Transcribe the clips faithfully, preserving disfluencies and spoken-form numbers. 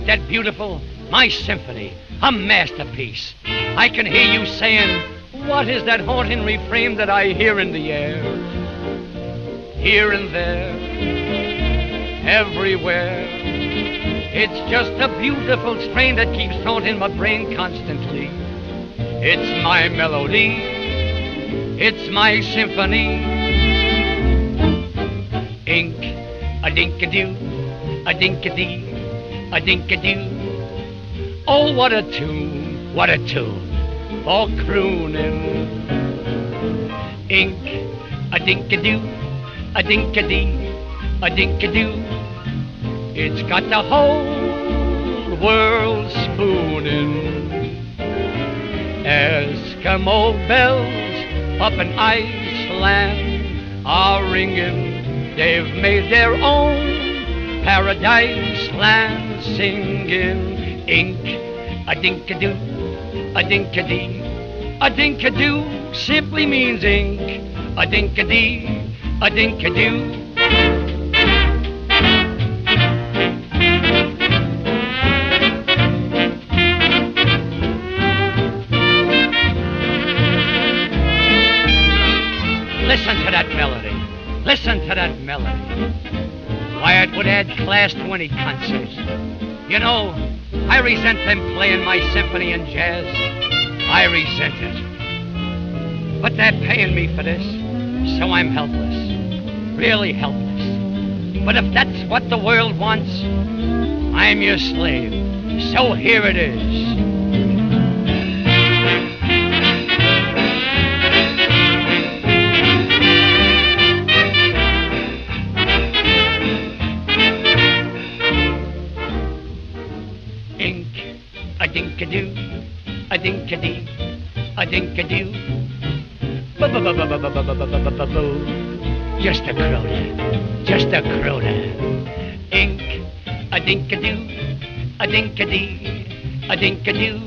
that beautiful? My symphony, a masterpiece. I can hear you saying, what is that haunting refrain that I hear in the air? Here and there, everywhere. It's just a beautiful strain that keeps haunting my brain constantly. It's my melody, it's my symphony. Ink, a dink-a-doo, a dink-a-dee, a dink-a-doo. Oh, what a tune, what a tune, for crooning. Ink, a dink-a-doo, a dink-a-dee, a dink-a-doo. It's got the whole world spooning. Eskimo bells up in Iceland are ringing. They've made their own paradise land singing. Ink, a dink-a-doo, a dink-a-dee, a dink-a-doo simply means ink. A dink-a-dee, a dink-a-doo. Listen to that melody. Listen to that melody. Why, it would add class to any concert. You know, I resent them playing my symphony and jazz. I resent it. But they're paying me for this, so I'm helpless. Really helpless. But if that's what the world wants, I'm your slave. So here it is. A dink-a-doo, a dink-a-dee, a dink-a-doo. Boo-boo-boo-boo-boo-boo-boo-boo-boo-boo. Just a crooner, just a crooner. Ink, a dink-a-doo, a dink-a-dee, a dink-a-doo.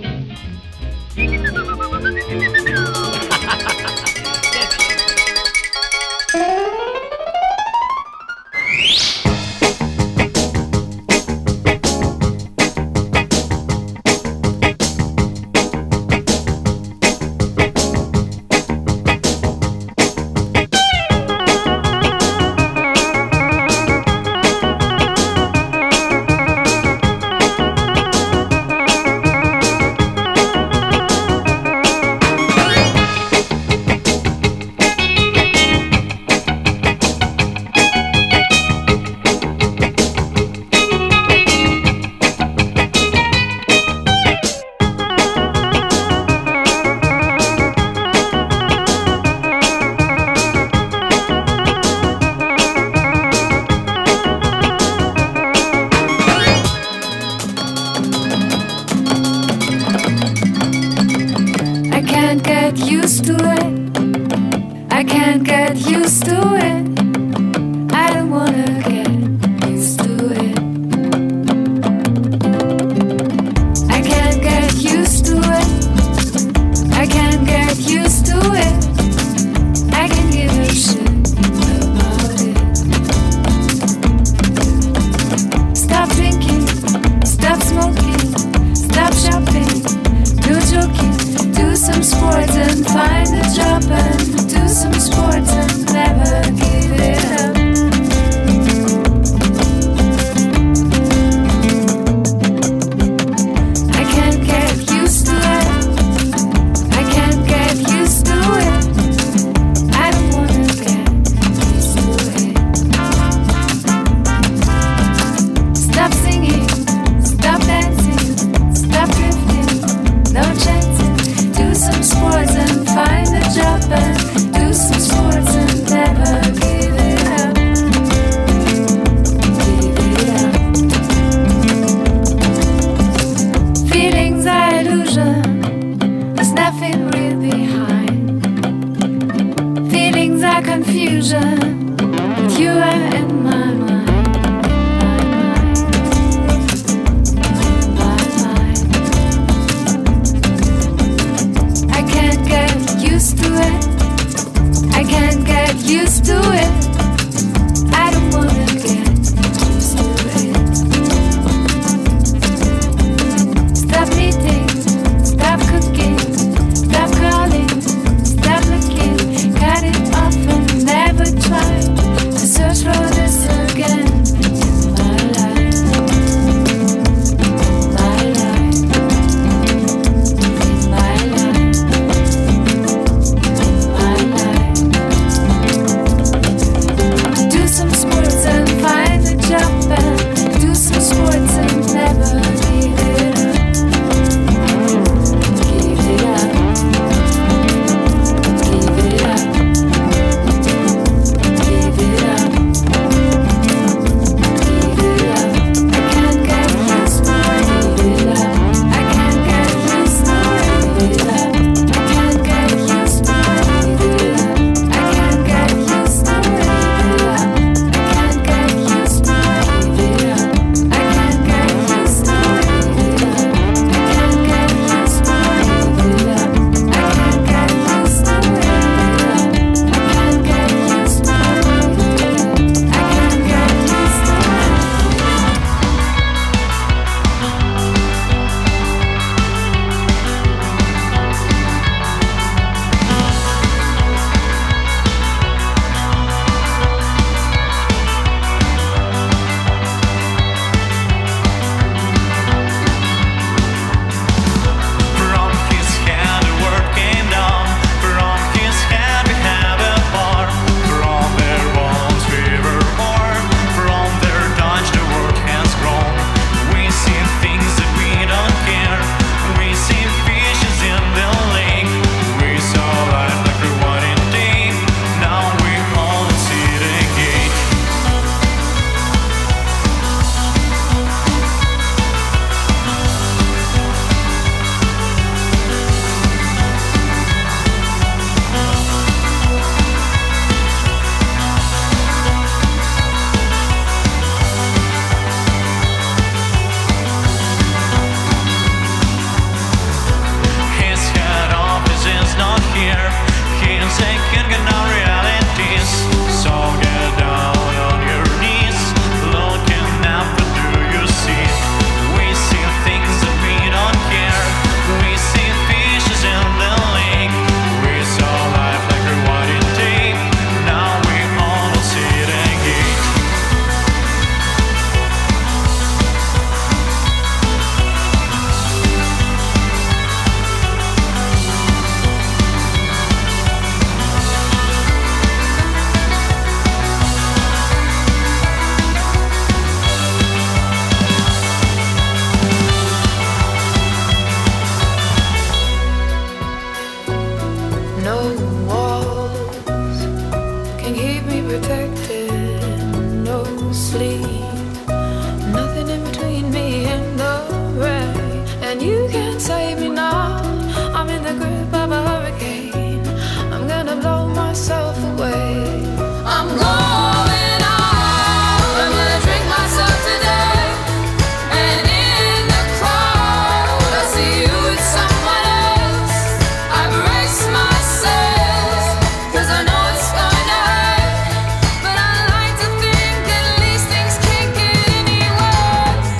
keep me protected. No sleep, nothing in between me and the rain. And you can't save me now. I'm in the grip of a hurricane. I'm gonna blow myself away. I'm going out. I'm gonna drink myself to death. And in the crowd, I see you with someone else. I brace myself, 'cause I know it's going to hurt. But I like to think at least things can't get any worse.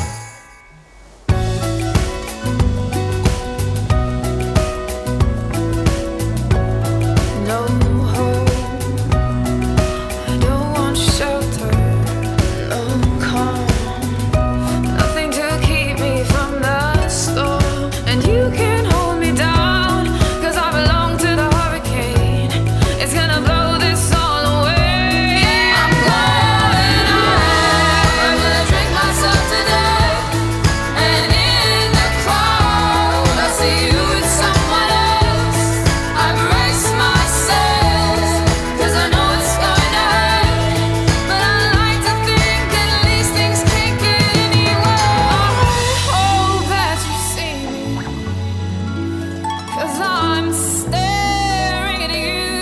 No hope, I don't want shelter, no calm, nothing to keep me from the storm. And you can't hold me down, 'cause I belong to the hurricane. It's gonna blow this all away. I'm going out. I'm gonna drink myself to death. And in the crowd, I see you with someone else. I brace myself, 'cause I know it's going to hurt. But I like to think at least things can't get any worse. I hope that you see me, 'cause I'm staring at you.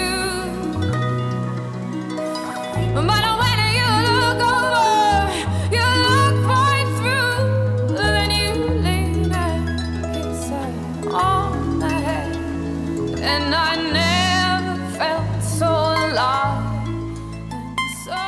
But when you look over, you look right through. Then you lay that kiss on my head. And I never felt so alive and so.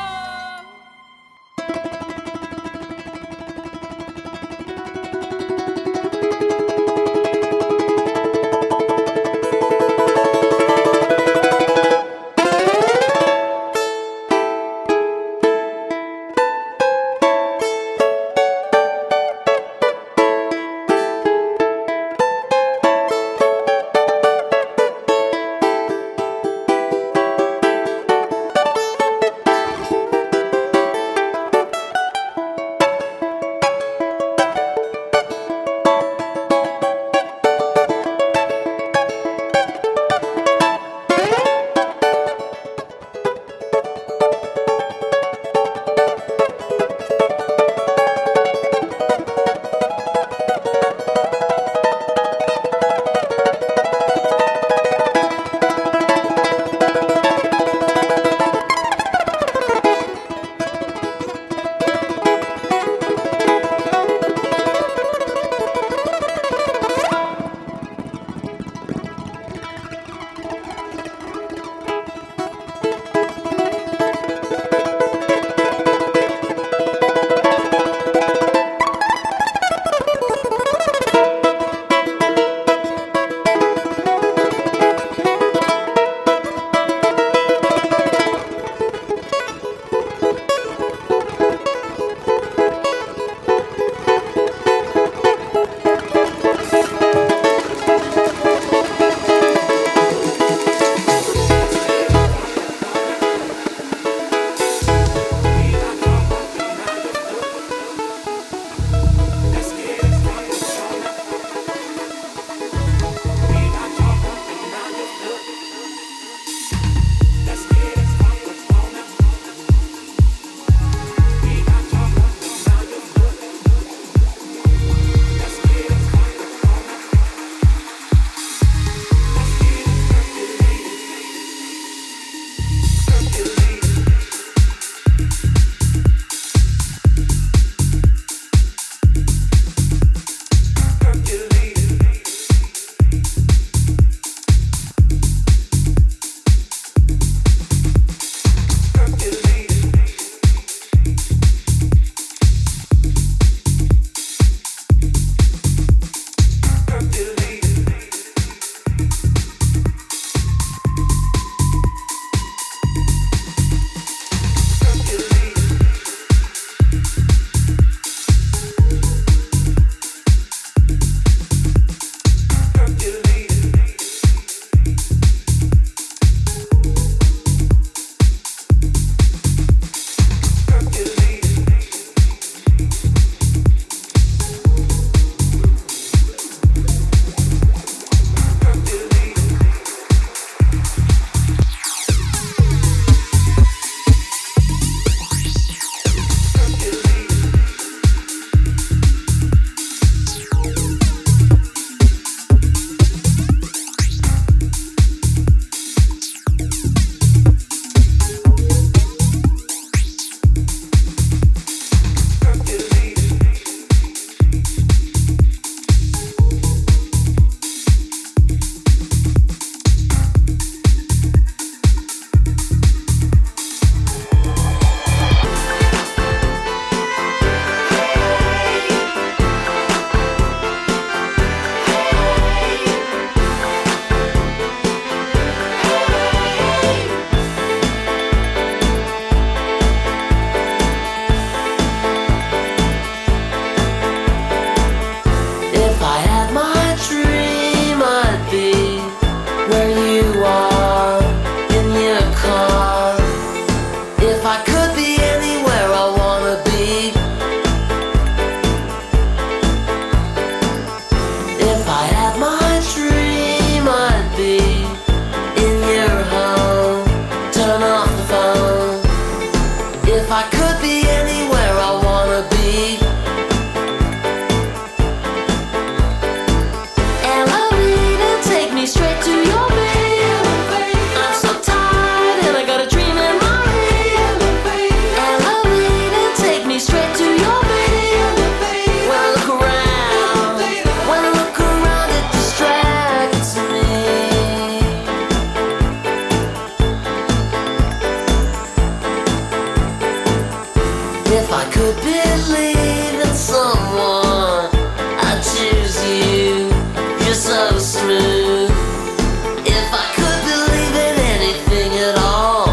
If I could believe in someone, I'd choose you. You're so smooth. If I could believe in anything at all,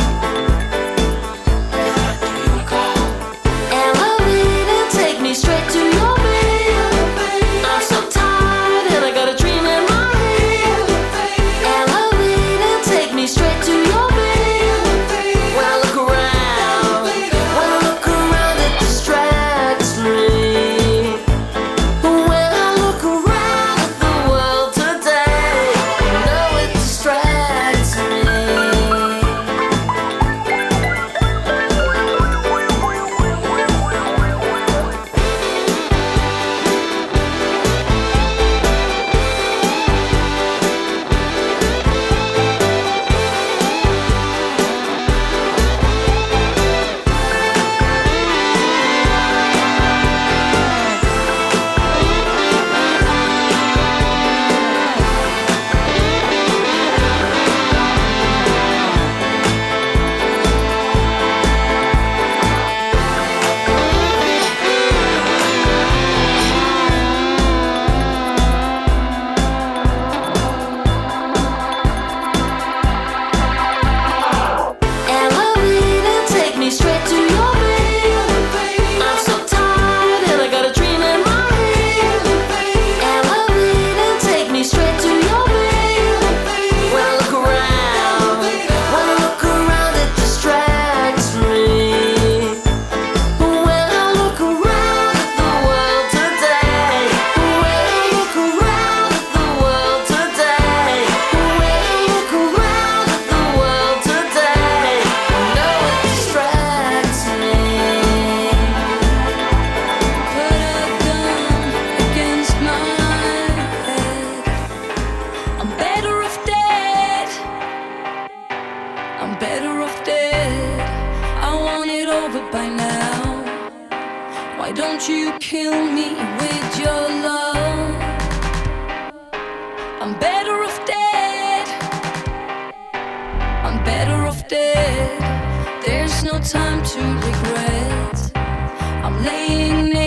Elavina, take me straight to your bed. I'm so tired and I got a dream in my head. Elavina, take me straight to your bed. When I look around, when I look around, it distracts me. When I look around at the world today, you know it distracts me. Elavina, take me straight to your bed. I'm so tired and I got a dream in my head. Elavina, take me straight to your bed. When I look around, when I look around, it distracts me. When I look around at the world today, when I look around at the world today, when I look around at the world today, you know it distracts me. Put a gun against my head. I'm better off dead. I'm better off dead. I want it over by now. Why don't you kill me with your love? I'm better off dead. I'm better off dead. There's no time to regret. I'm laying